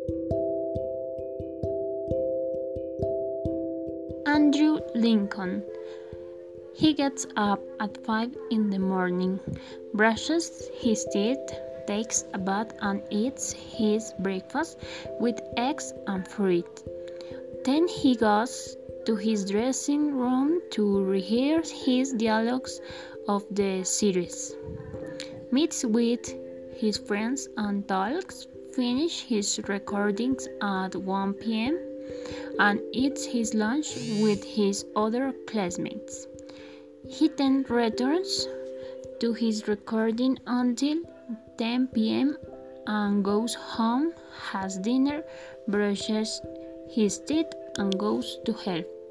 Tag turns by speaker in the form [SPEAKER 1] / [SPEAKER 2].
[SPEAKER 1] Andrew Lincoln. He gets up at 5 in the morning, brushes his teeth, takes a bath and eats his breakfast with eggs and fruit. Then he goes to his dressing room to rehearse his dialogues of the series, meets with his friends and talks, finishes his recordings at 1 p.m. and eats his lunch with his other classmates. He then returns to his recording until 10 p.m. and goes home, has dinner, brushes his teeth, and goes to help.